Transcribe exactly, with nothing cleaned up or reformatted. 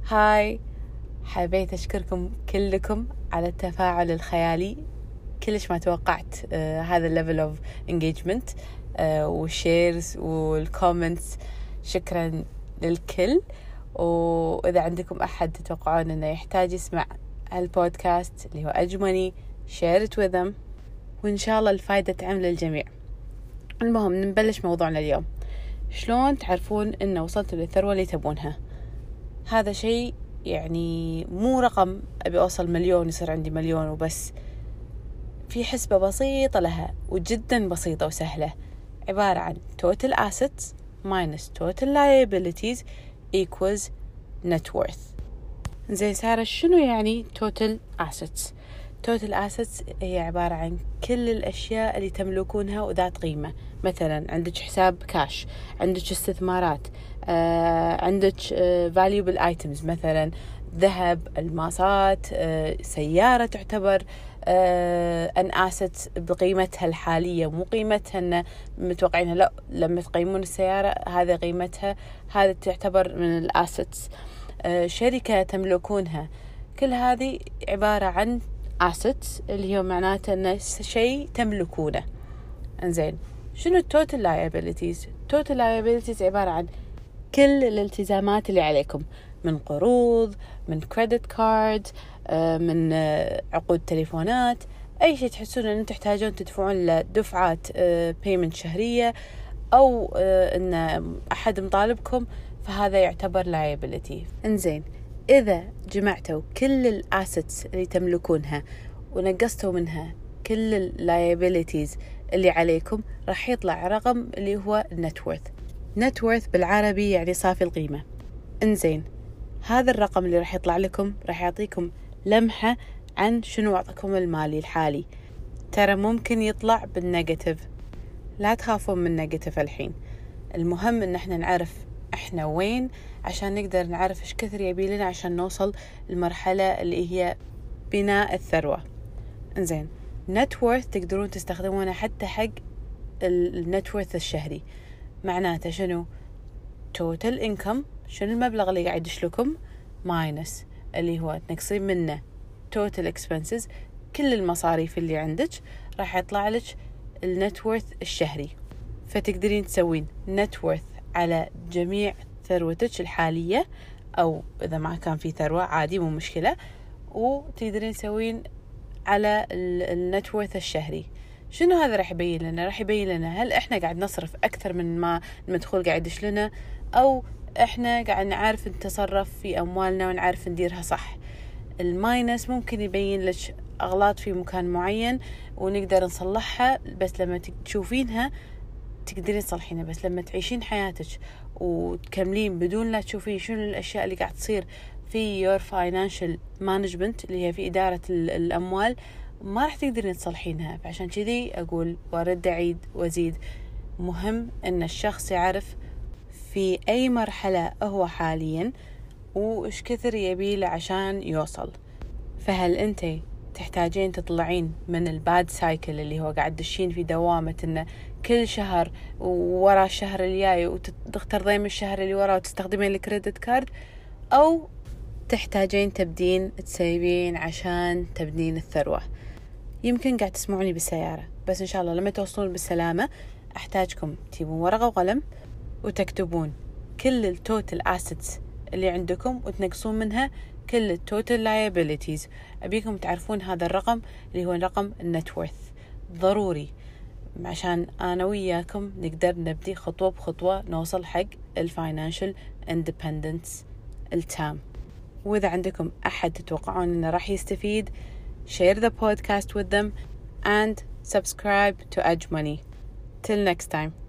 هاي، حبيت أشكركم كلكم على التفاعل الخيالي. كلش ما توقعت آه هذا الليفل اوف انجيجمنت آه والشيرز والكومنتس. شكرا للكل. وإذا عندكم أحد تتوقعون أنه يحتاج يسمع هالبودكاست اللي هو أجمني، share it with them، وإن شاء الله الفايدة تعم للجميع. المهم نبلش موضوعنا اليوم. شلون تعرفون أنه وصلتوا للثروة اللي تبونها؟ هذا شيء يعني مو رقم أبي أوصل مليون يصير عندي مليون وبس. في حسبة بسيطة لها وجدا بسيطة وسهلة، عبارة عن total assets minus total liabilities equals net worth. زين سارة، شنو يعني total assets؟ total assets هي عبارة عن كل الأشياء اللي تملكونها وذات قيمة. مثلا عندك حساب كاش، عندك استثمارات، آه، عندك آه، valuable items مثلا ذهب، الماسات، آه، سيارة تعتبر آه، an asset بقيمتها الحالية، مو قيمتها أن متوقعينها، لا، لما تقيمون السيارة هذا قيمتها، هذا تعتبر من الأسيتس. آه، شركة تملكونها، كل هذه عبارة عن assets اللي هو معناته أنه شيء تملكونه. انزين، شنو total liabilities؟ total liabilities عبارة عن كل الالتزامات اللي عليكم، من قروض، من credit card، من عقود تليفونات، أي شيء تحسون أن تحتاجون تدفعون لدفعات payment شهرية، أو أن أحد مطالبكم، فهذا يعتبر liability. انزين، إذا جمعتوا كل الأسيتس اللي تملكونها ونقصتوا منها كل اللايبيليتيز اللي عليكم، راح يطلع رقم اللي هو net worth. net worth بالعربي يعني صافي القيمة. انزين، هذا الرقم اللي راح يطلع لكم راح يعطيكم لمحة عن شنو وضعكم المالي الحالي. ترى ممكن يطلع بالنيجاتيف، لا تخافون من النيجاتيف الحين. المهم ان احنا نعرف احنا وين، عشان نقدر نعرف ايش كثر يبي لنا عشان نوصل المرحلة اللي هي بناء الثروة. انزين، net worth تقدرون تستخدمونه حتى حق النت worth الشهري. معناته شنو؟ total income، شنو المبلغ اللي قاعد يدشلكم، minus اللي هو تنقصين منه total expenses، كل المصاريف اللي عندك، راح يطلع لك النت worth الشهري. فتقدرين تسوين net worth على جميع ثروتك الحالية، أو إذا ما كان في ثروة عادي مو مشكلة، وتقدرين تسوين على النت worth الشهري. شنو هذا راح يبين لنا؟ راح يبين لنا هل إحنا قاعد نصرف أكثر من ما المدخول قاعد يدش لنا، أو إحنا قاعد نعرف نتصرف في أموالنا ونعرف نديرها صح. الماينس ممكن يبين لك أغلاط في مكان معين ونقدر نصلحها، بس لما تشوفينها تقدرين تصلحينها. بس لما تعيشين حياتك وتكملين بدون لا تشوفين شنو الأشياء اللي قاعد تصير في your financial management اللي هي في إدارة الأموال، ما راح تقدرين تصلحينها. فعشان كذي أقول وأرد أعيد وأزيد، مهم أن الشخص يعرف في أي مرحلة هو حاليا وإيش كثر يبيله عشان يوصل. فهل أنت تحتاجين تطلعين من الباد سايكل اللي هو قاعد تدشين في دوامة إنه كل شهر ورا الشهر الجاي وتختارين من الشهر اللي وراه وتستخدمين الكريدت كارد، أو تحتاجين تبدين تسيبين عشان تبنين الثروة؟ يمكن قاعد تسمعوني بالسيارة، بس إن شاء الله لما توصلون بالسلامة أحتاجكم تجيبون ورقة وقلم وتكتبون كل التوتال assets اللي عندكم وتنقصون منها كل التوتال liabilities. أبيكم تعرفون هذا الرقم اللي هو رقم النت worth، ضروري عشان أنا وياكم نقدر نبدي خطوة بخطوة نوصل حق الفاينانشال independence التام. وإذا عندكم أحد تتوقعون أنه راح يستفيد، share the podcast with them and subscribe to Edge Money. Till next time.